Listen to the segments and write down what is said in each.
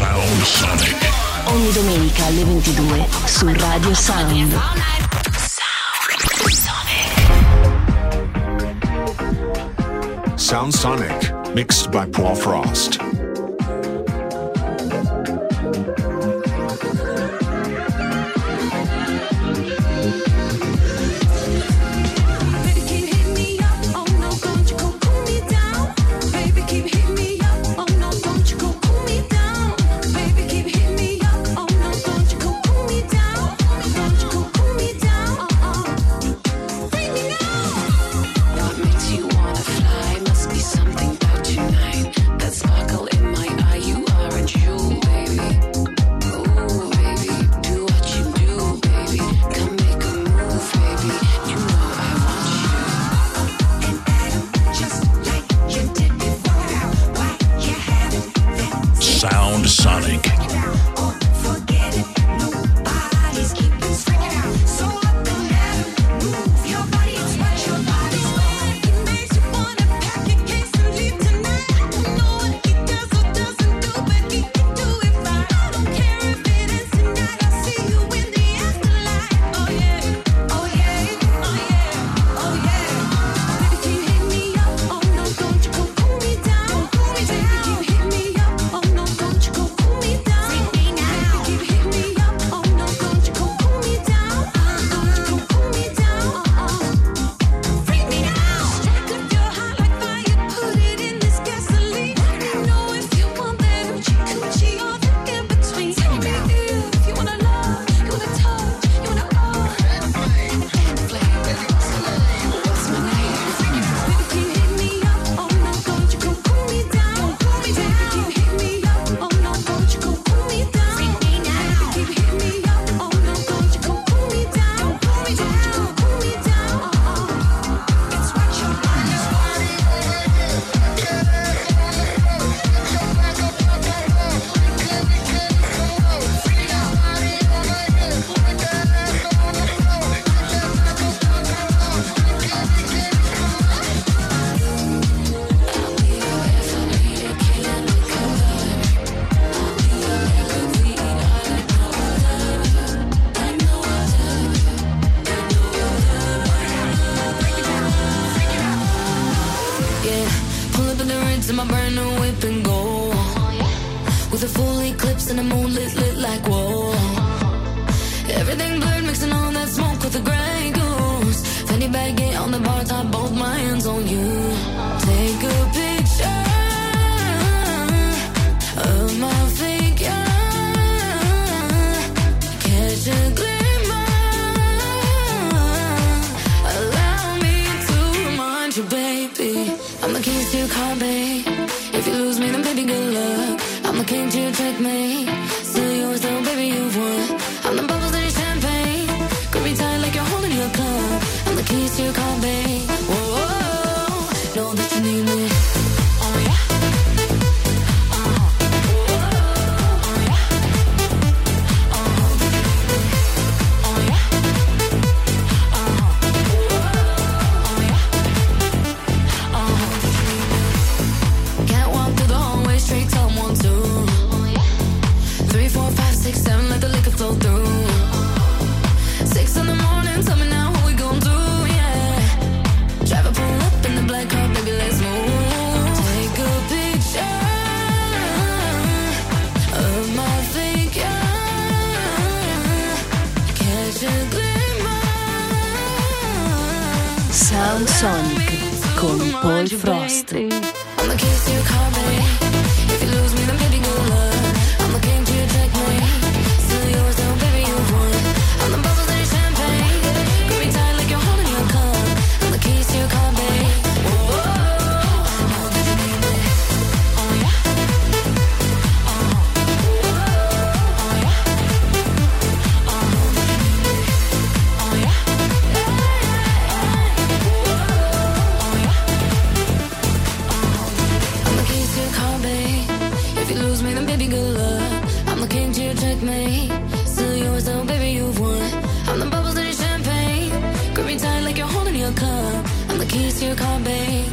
Sound Sonic. Ogni domenica alle 22 su Radio Sound. Sound Sonic, mixed by Paul Frost. Sound Sonic. Sound Sonic con Paul Frost.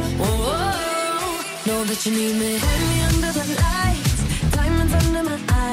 Know that you need me. Hold me under the lights, diamonds under my eyes.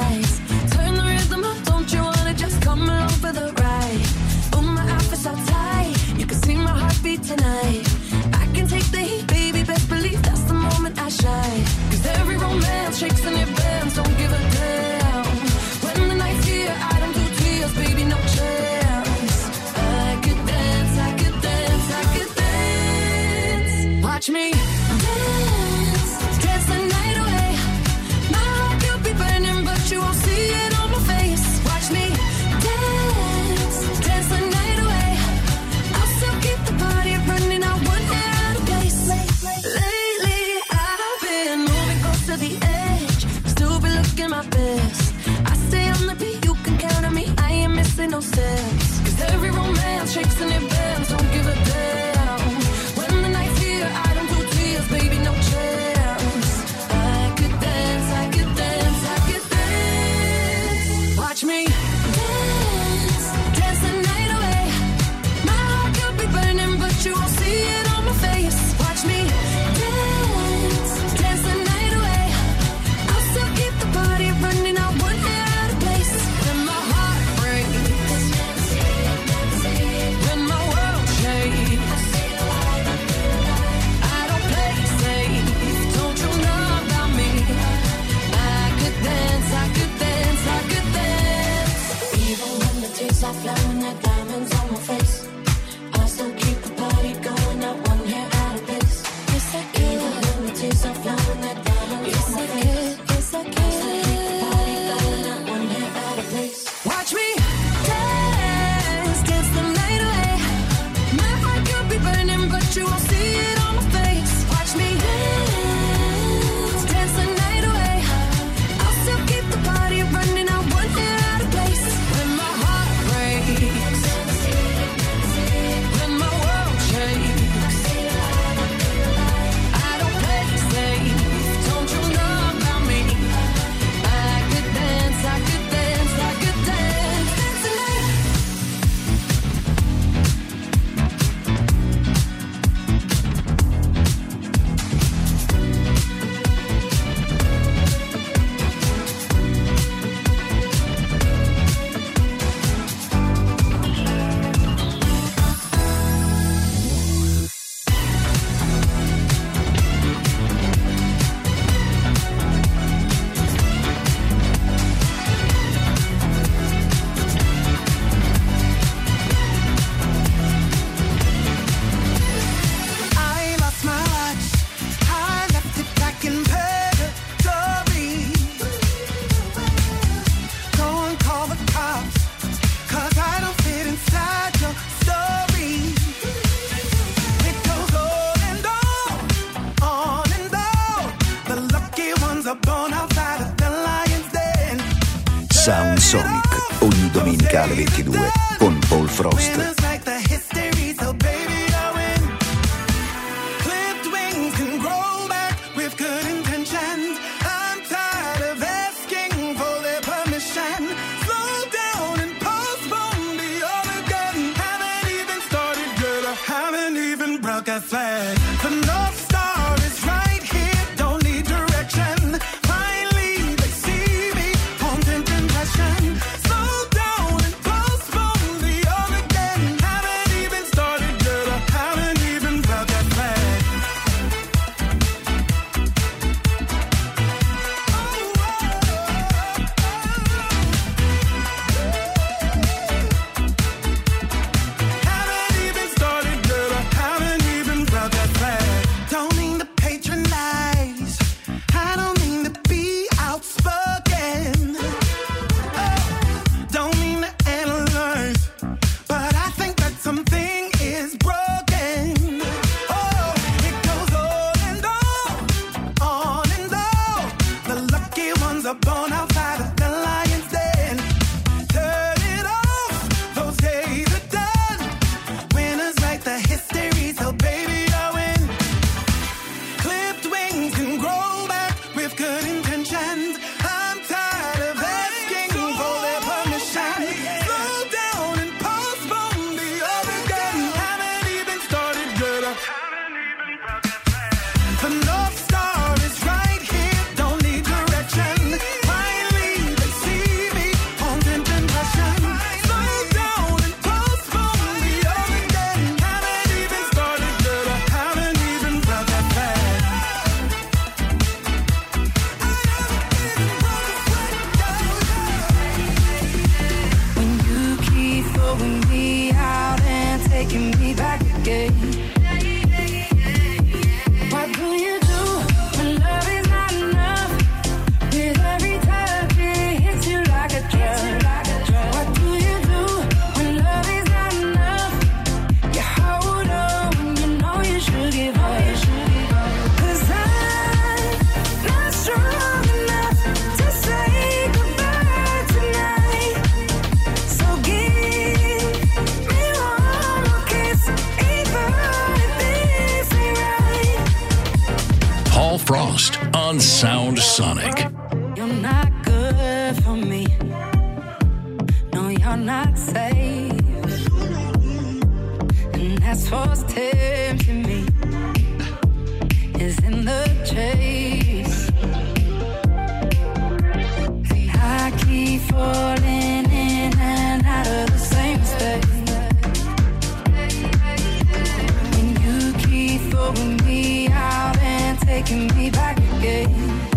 looking my best. I stay on the beat, you can count on me. I ain't missing no steps. 'Cause every romance shakes and it bends. Don't give a damn. When the night's here, I don't do tears, baby, no chance. I could dance, I could dance, I could dance. Watch me dance, dance the night away. My heart could be burning, but you won't see it on my face. Watch me dance, dance the night away. I'll still keep the party running, I wouldn't get out of place. When my heart breaks, when my world shakes, I don't play safe, don't you know about me? I could dance, I could dance, I could dance. Even when the tears are flowing, the diamonds on my face, I still keep the party going, not one hair out of place. Yes, I can. Even when the tears are flowing, the diamonds on my face, yes, I can. I still keep the party going, not one hair out of place. Watch me dance, dance the night away. My heart could be burning, but you won't see it on my face. Watch me dance, dance the night away. I'll still keep the party running, I won't get out of place. When my heart breaks, when my world shakes, I don't play safe, don't you know about me? I could dance, I could dance, I could dance, dance the night. I lost my watch. I left it back in purgatory. Go and call the cops, 'cause I don't fit inside your story. It goes on and on and on. The lucky ones are born outside of the lion's den. Sound Sonic, ogni domenica alle 22 con Paul Frost. Winners like the history, so baby, I win. Clipped wings can grow back with good intentions. I'm tired of asking for their permission. Slow down and postpone the Armageddon. Haven't even started yet, I haven't even broke a sweat. The North Star is right here, don't need direction. Finally, they see me, haunting impression. Slow down and postpone the Armageddon. Haven't even started yet, I haven't even broke a sweat. Haven't even started yet, I haven't even broke a sweat. Don't mean to patronize, I don't mean to be outspoken. Don't mean to analyze, but I think that something is broken. Oh, it goes on and on and on. The lucky ones are born outside of the lion's den. Turn it off, those days are done. Winners write the history, so baby, I win. Clipped wings can grow back with good intentions. I'm tired of asking for their permission. Slow down and postpone the Armageddon. Haven't even started yet, I haven't even broken thread. The North Star is right here, don't need direction. Finally, they see on Sound Sonic. You're not good for me. No, you're not safe. And that's what's tempting me, is in the chase. See, I keep falling in and out of the same space. And you keep throwing me out and taking me back again.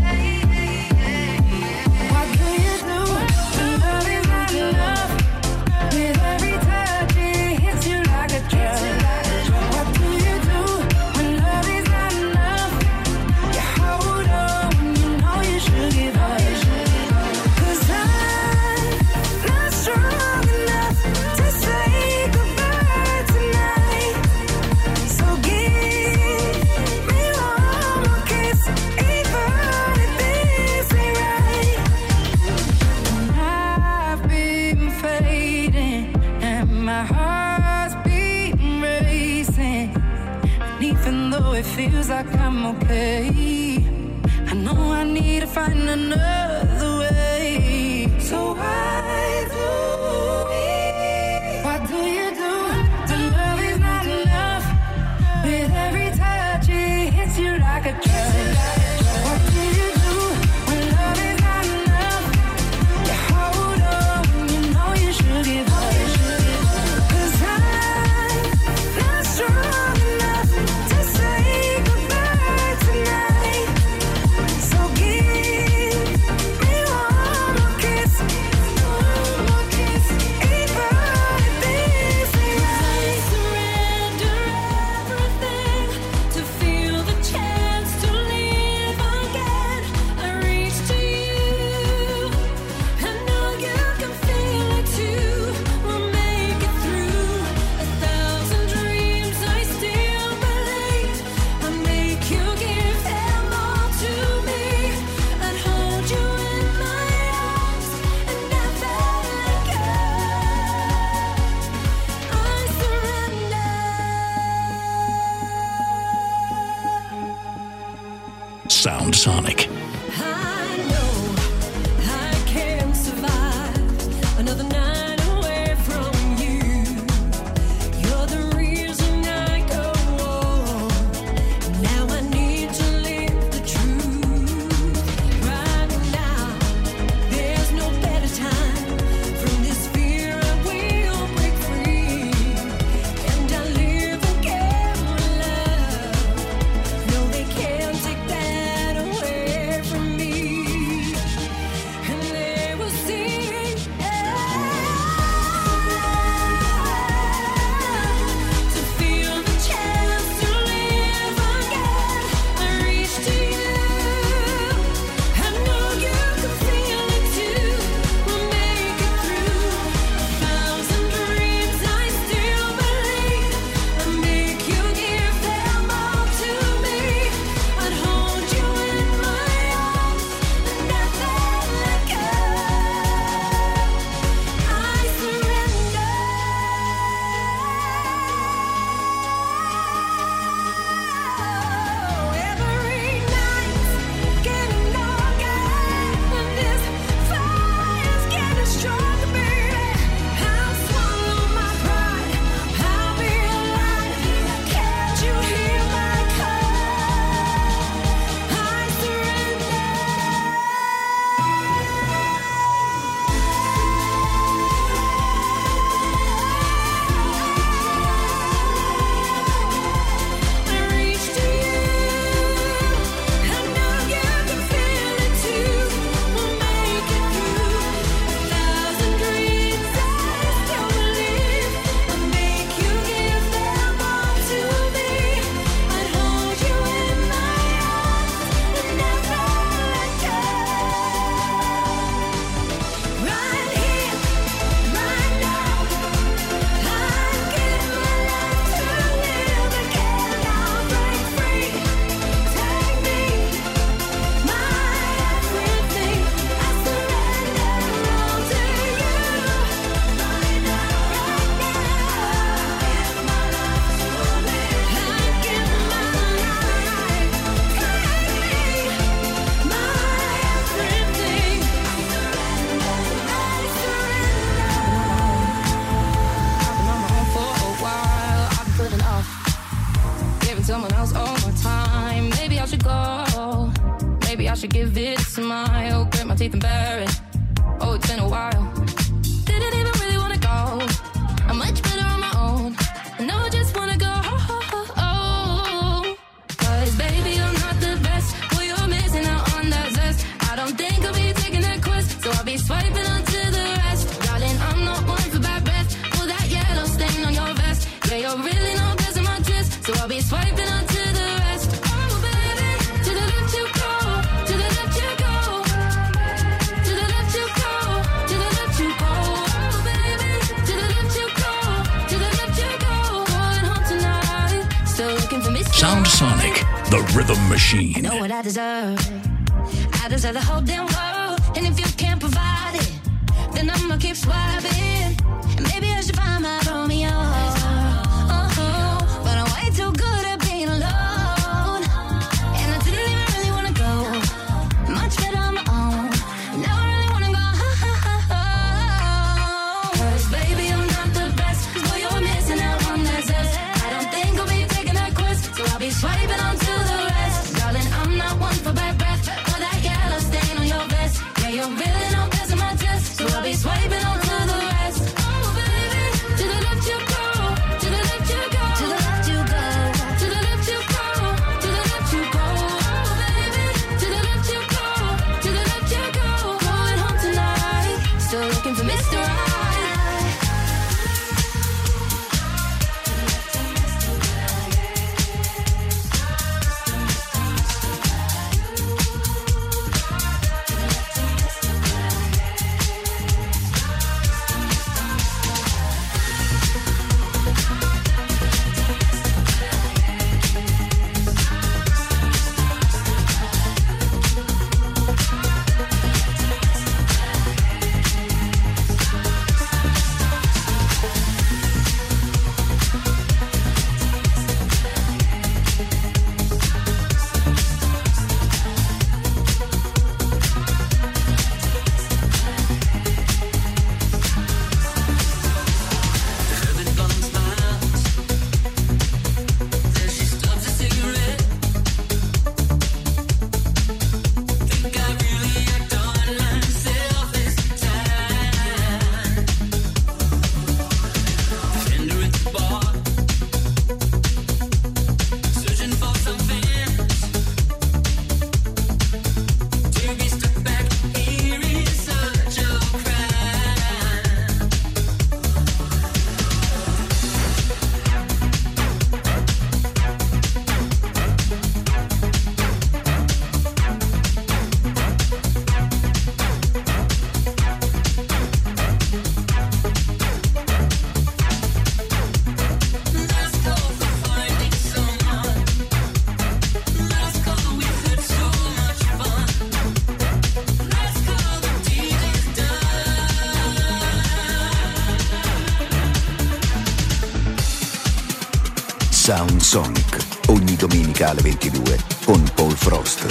Feels like I'm okay. I know I need to find another way. So why do you do? The love is not enough. With every touch it hits you like a drug. What do you do when love is not enough? You hold on, you know you should give up. 'Cause I'm not strong enough to say Sound Sonic. Can't take that away. my teeth and bury it. Oh, it's been a while. Didn't even really wanna go. I'm much better on my own. And now I just wanna go. Cause baby, I'm not the best. Well, you're missing out on that zest. I don't think I'll be taking that quest. So I'll be swiping onto the rest. Darling, I'm not one for bad breath. Pull that yellow stain on your vest. Yeah, you're really no best in my test. So I'll be swiping onto the rest. Oh, baby, to the left you go. To the left you go. To the left you go. To the left you go. Oh, baby, to the left you go. To the left you go. Going home tonight. Still looking for me. Sound Sonic, the rhythm machine. Know what I deserve. I deserve the whole damn world. And if you can't provide it, then I'ma keep swiping. And maybe I should find my Romeo. But I'm way too good at being alone. And I didn't even really wanna go. Much better on my own. Now I really wanna go. Cause baby, I'm not the best. Boy, you're missing out on that zest. I don't think I'll be taking that quest. So I'll be swiping onto the rest. Darling, I'm not one for bad breath. Or that yellow stain on your vest. Yeah, you're really no best in my test. So I'll be swiping onto the rest. Oh, baby, to the left you go. To the left you go. To the left you go. To the left you go. To the left you go. Oh, baby, to the left you go. To the left you go. Going home tonight. Still looking for Mr. Right. Sound Sonic, ogni domenica alle 22 con Paul Frost.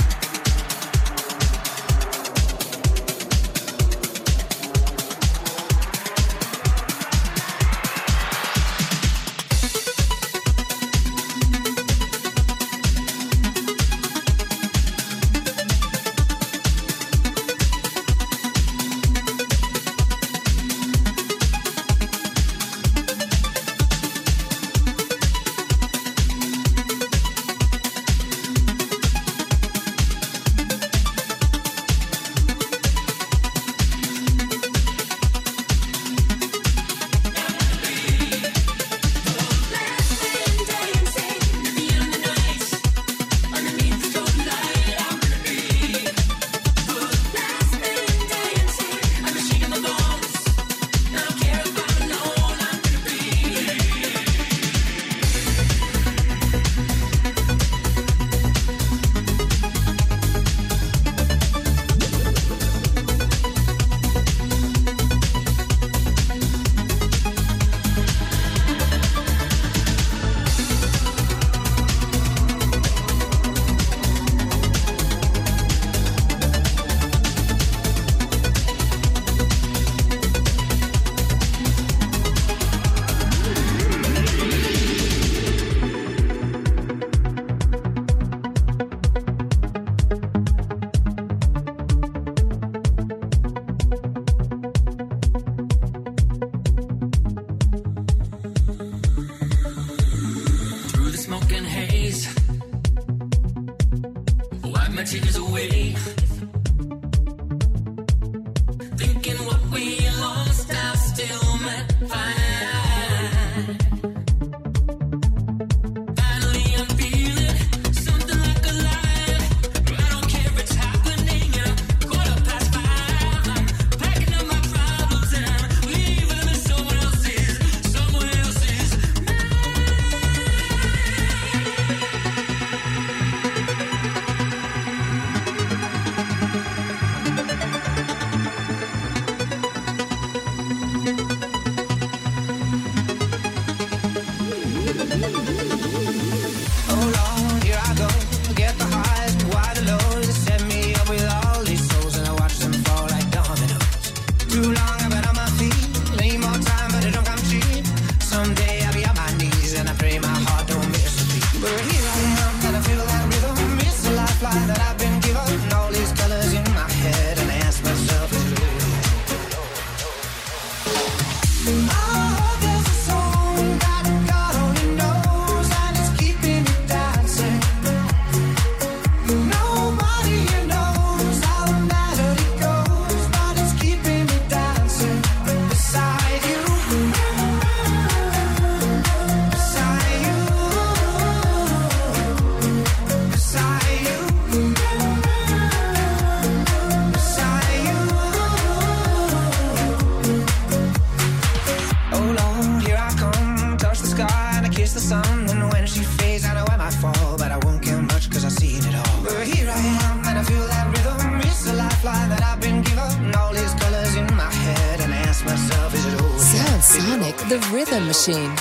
The Rhythm Machine.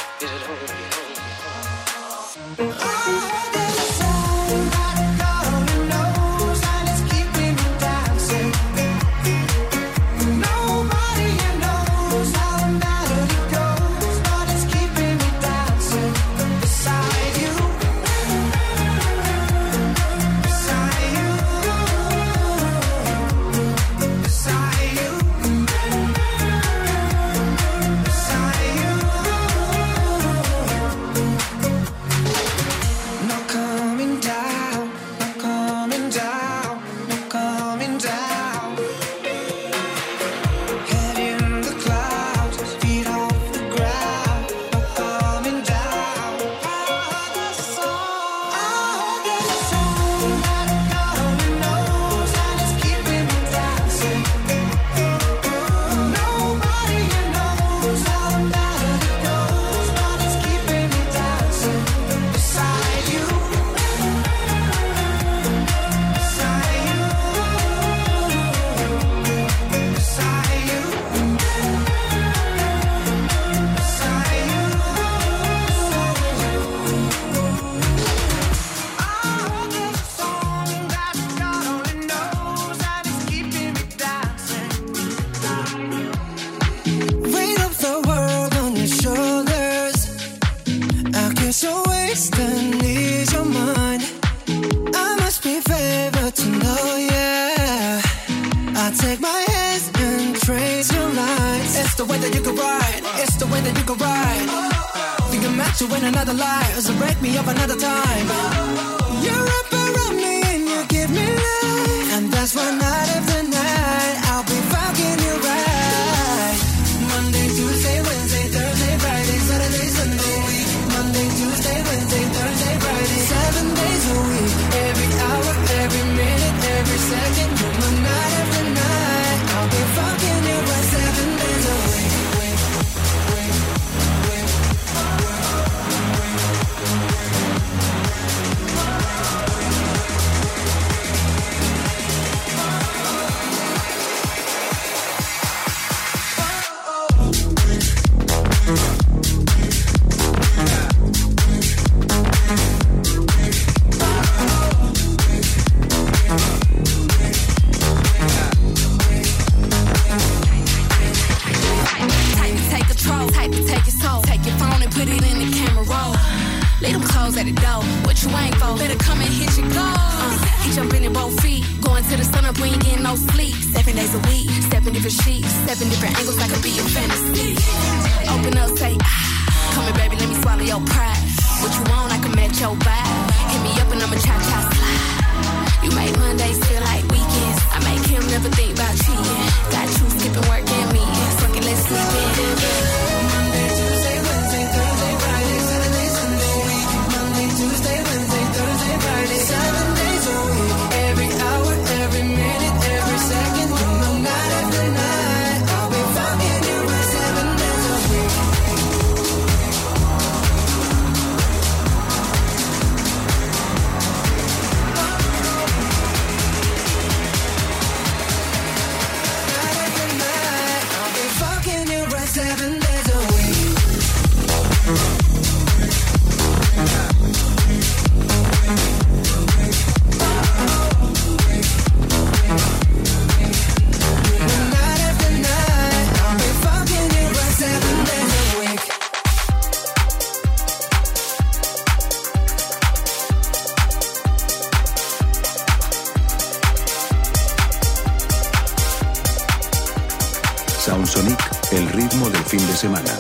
Soundsonic, el ritmo del fin de semana.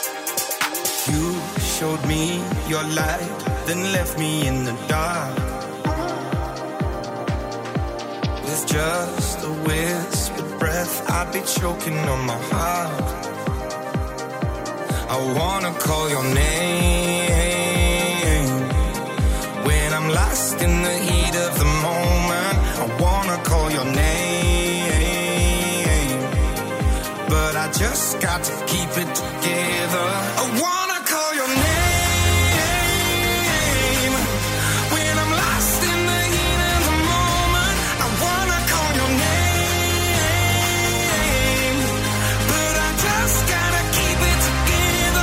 You showed me your light, then left me in the dark. With just a whispered breath, I'd be choking on my heart. I wanna call your name when I'm lost in the heat of the moment. I wanna call your name, but I just got to keep it together. I wanna call your name when I'm lost in the heat of the moment. I wanna call your name, but I just gotta keep it together.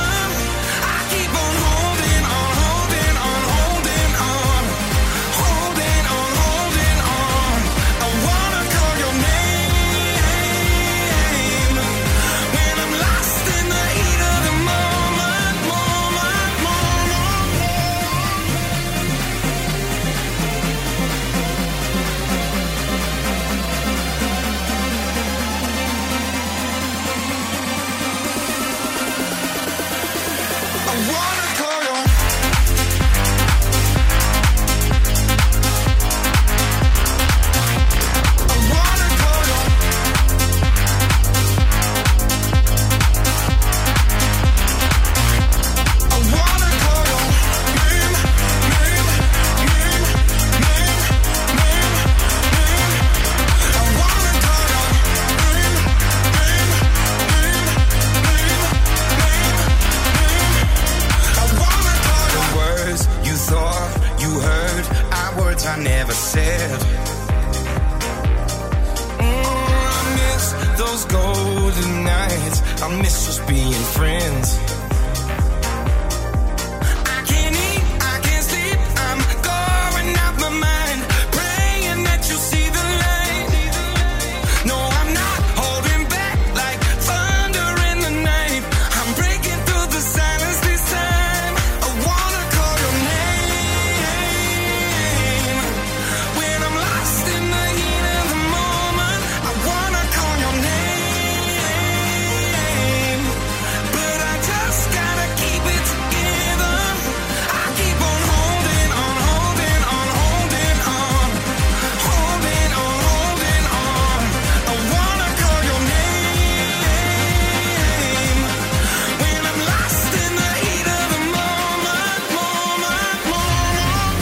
those golden nights. I miss us being friends. I can't eat, I can't sleep, I'm going out my mind, praying that you see the light. No, I'm not holding back like thunder in the night. I'm breaking through the silence this time. I wanna call your name when I'm lost in the heat of the moment. I wanna call your name, but I just gotta keep it together. I keep on holding on, holding on, holding on, holding on, holding on. I wanna call your name when I'm lost in the heat of the moment, moment, moment.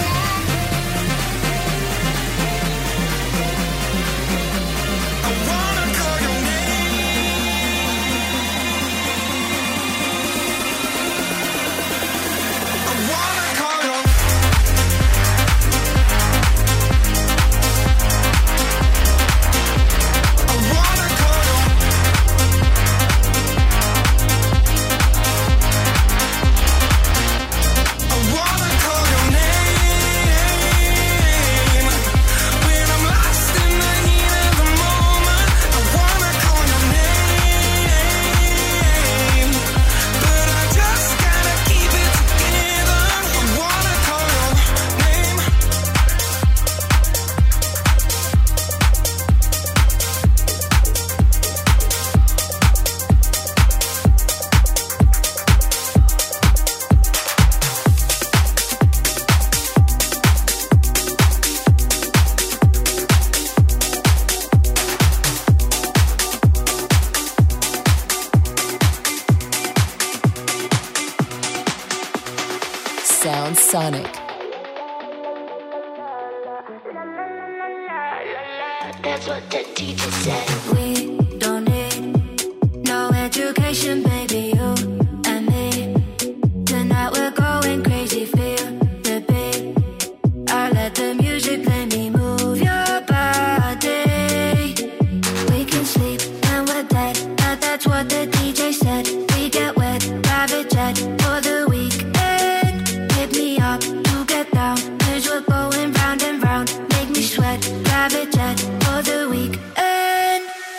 I wanna call your name. I wanna call your I wanna call your I wanna call your name when I'm lost in the heat of the moment. I wanna call your name, but I just gotta keep it together. I wanna call your name. Sound Sonic. That's what the teacher said. We don't need no education, baby, you and me. Tonight we're going crazy, feel the beat. I let the music play me, move your body. We can sleep and we're dead, but that's what the DJ said. We get wet, private jet for the weekend. Hit me up to get down, 'cause we're going round and round. Make me sweat, private jet for the weekend.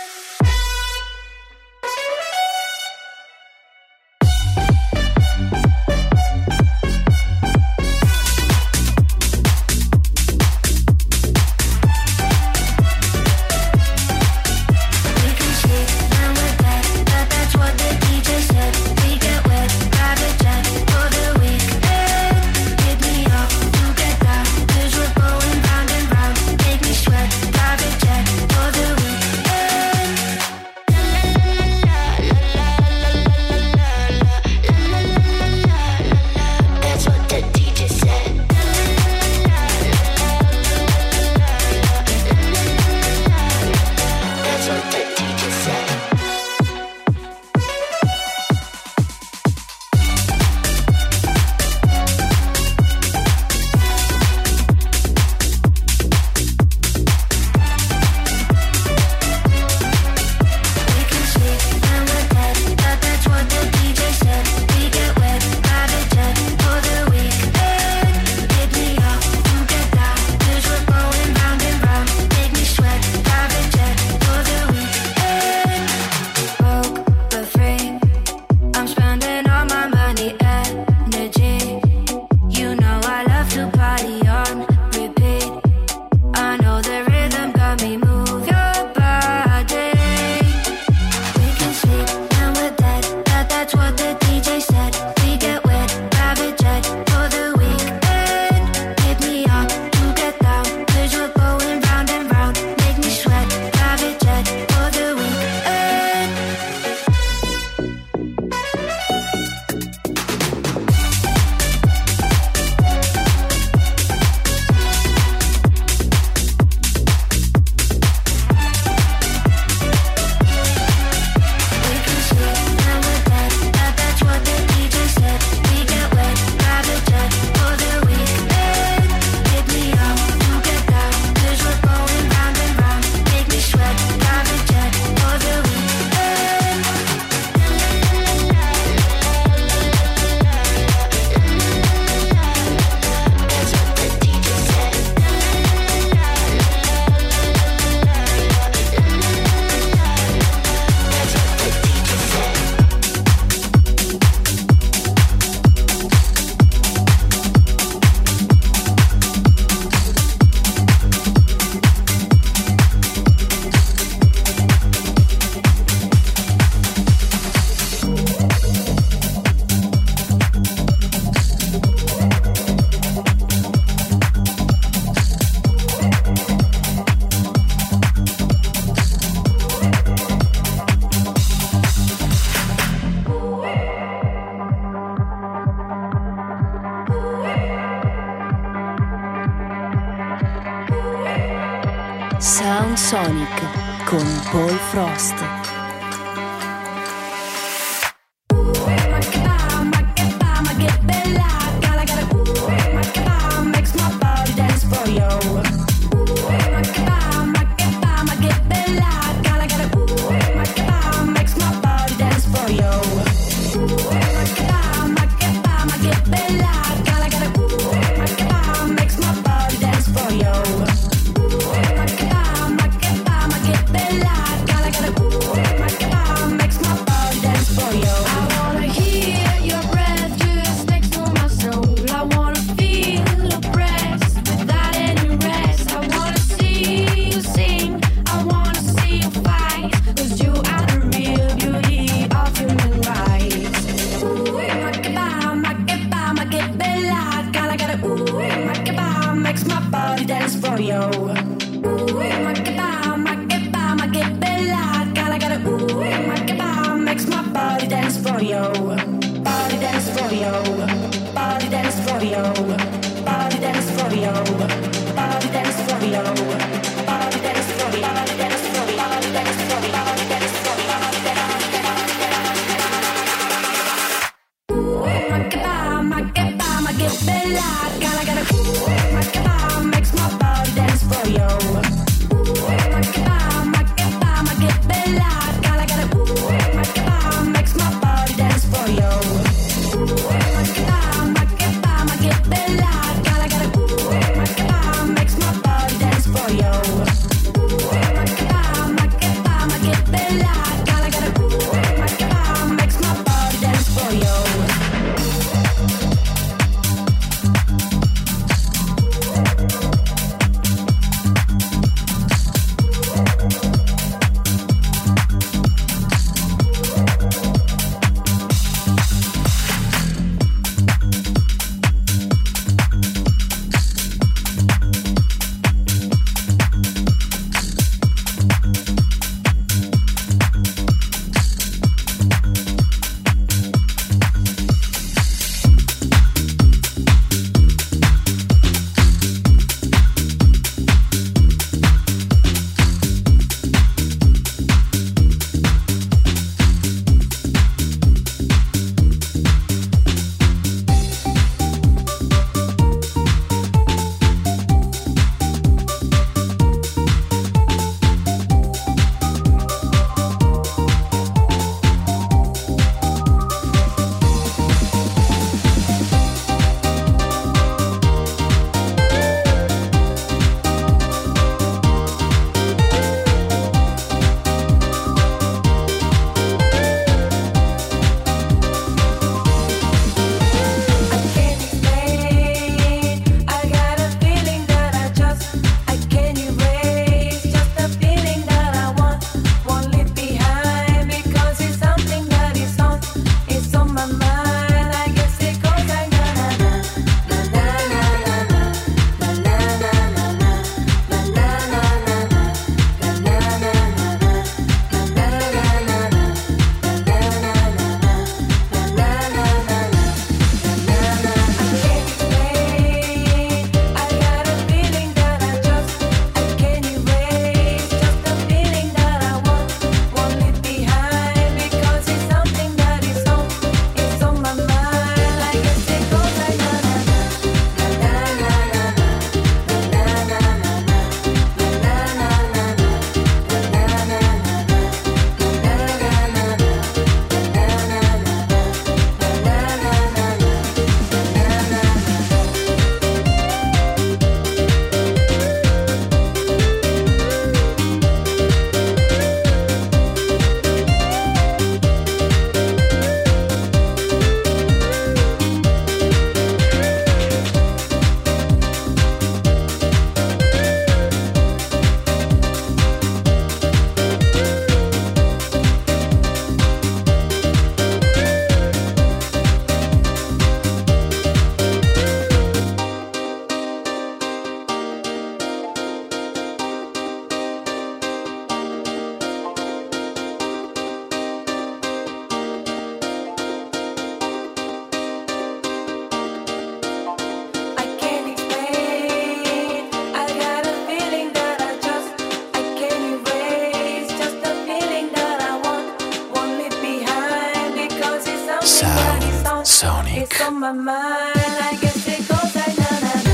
con Paul Frost. Bella, Sound Sonic. It's on my mind, I guess it goes like na na na.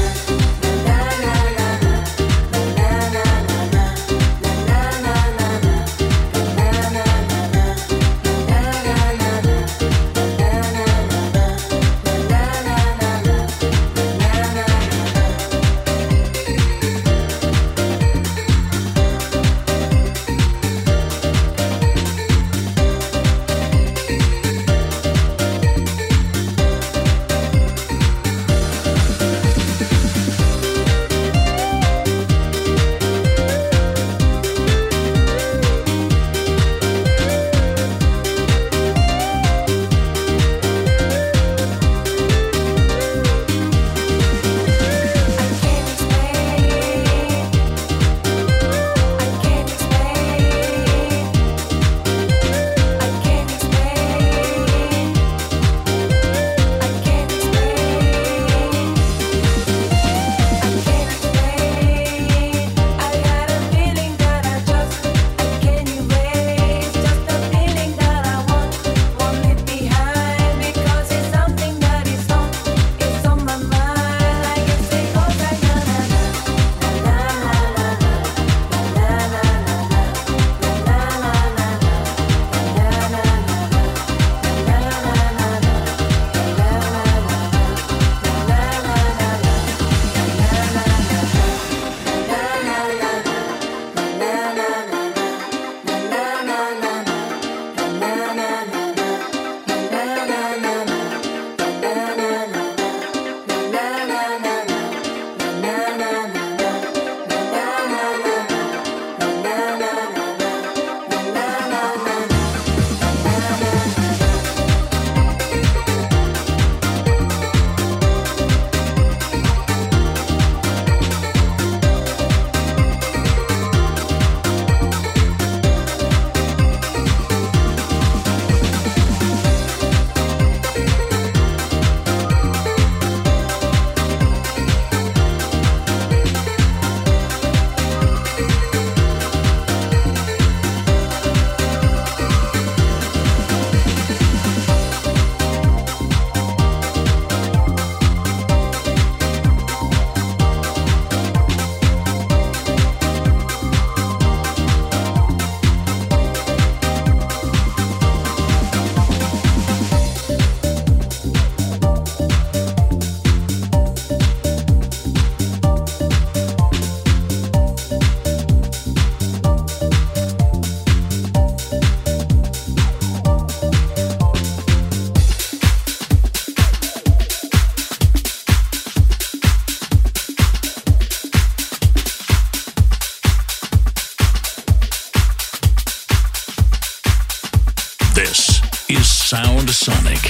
This is Sound Sonic.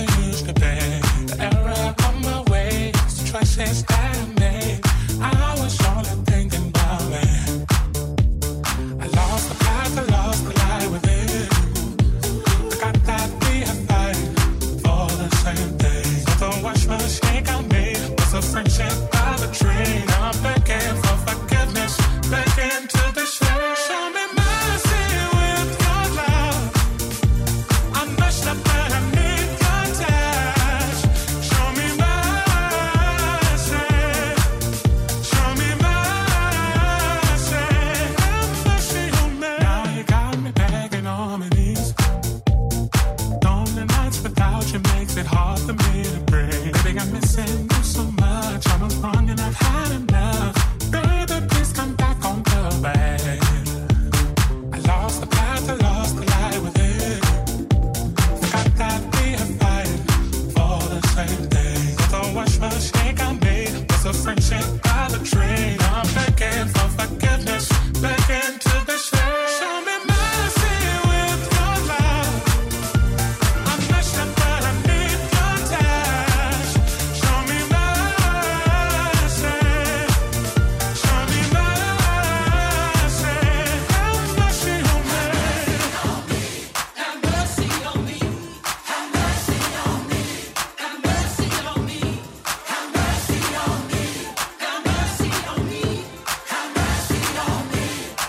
used to be. The error of my ways, the choices that I made. I was only thinking about it. I lost the path, I lost the light within. I got that we are fighting for the same thing. So don't watch my mistake I made. Was a friendship by the train. I'm begging for forgiveness, begging to the shame. Show me mercy with your love. I messed up and I need your touch. Show me mercy. Show me mercy. Have mercy on me. Now you got me begging on my knees. Lonely nights without you makes it hard for me to breathe. Baby, I'm missing you so much. I was wrong and I've had enough. Baby, please come back on the way. I lost the path, I lost the light within. Forgot that we are fighting for the same thing. Don't watch my mistake I made. Was a friendship by the train. I'm begging for forgiveness, begging to the shame. Show me mercy with your love. I messed up but I need your touch. Show me mercy. Show me mercy. Have mercy on me. Have mercy on me. Have mercy on me. Have mercy on me. Have mercy on me. Have mercy on me. Have mercy on me.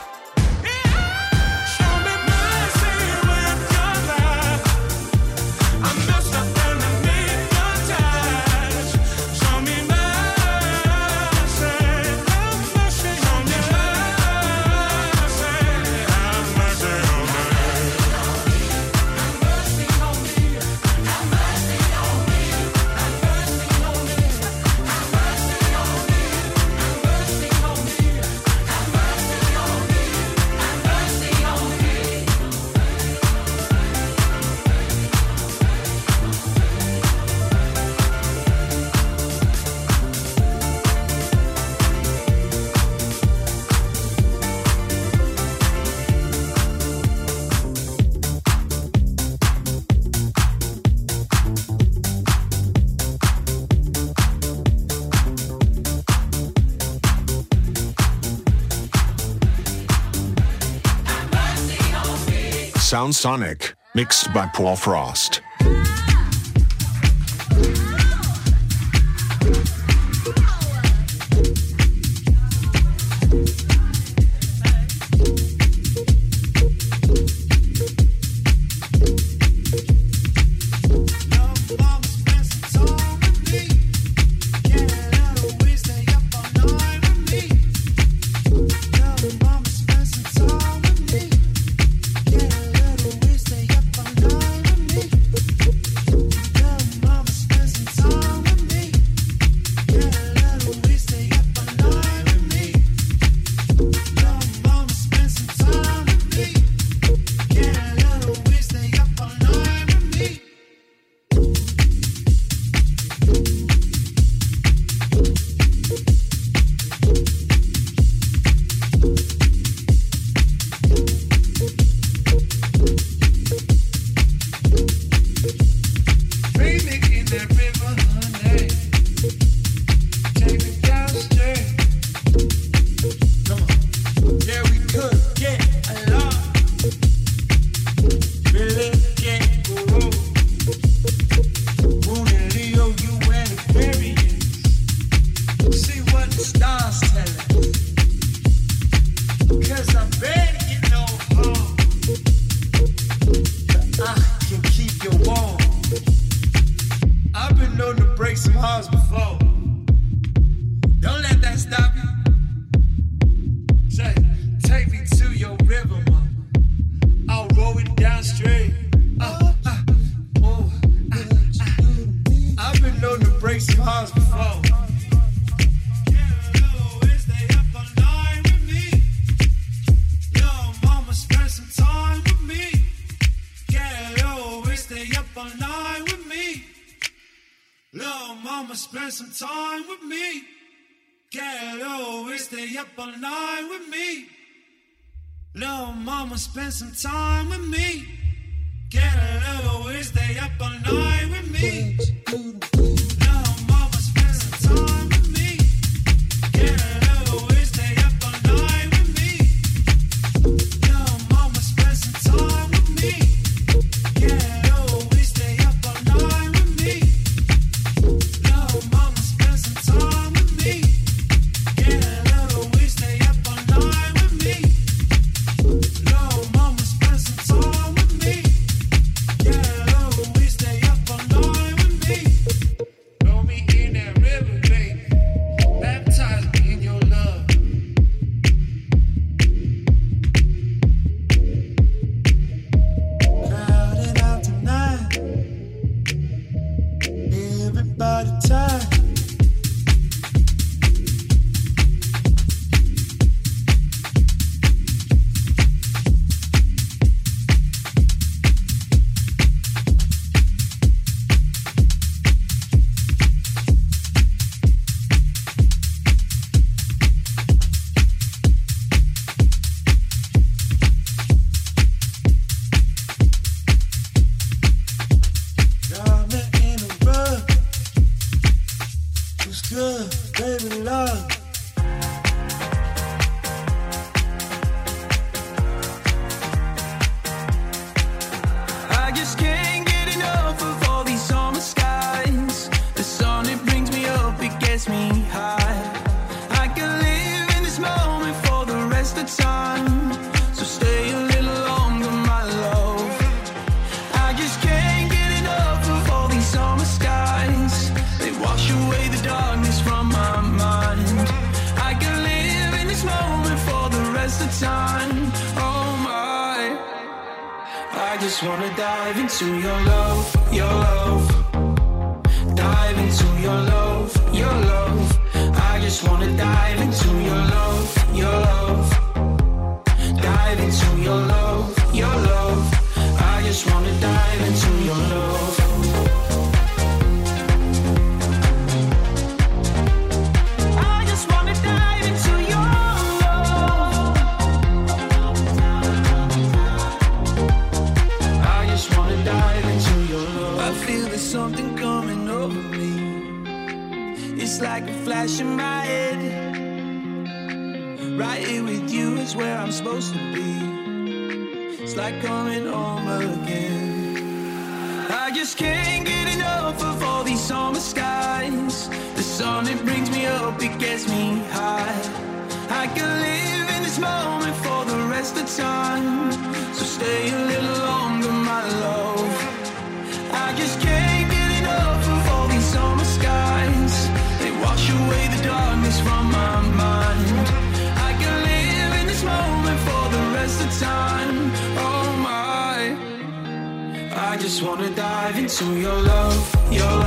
Show me mercy with your love. I messed up and I need your touch. Show me mercy. Have mercy on me. Have mercy on me. Sound Sonic, mixed by Paul Frost. Spend some time with me. Get a little way, stay up all night with me. Just wanna dive into your love, your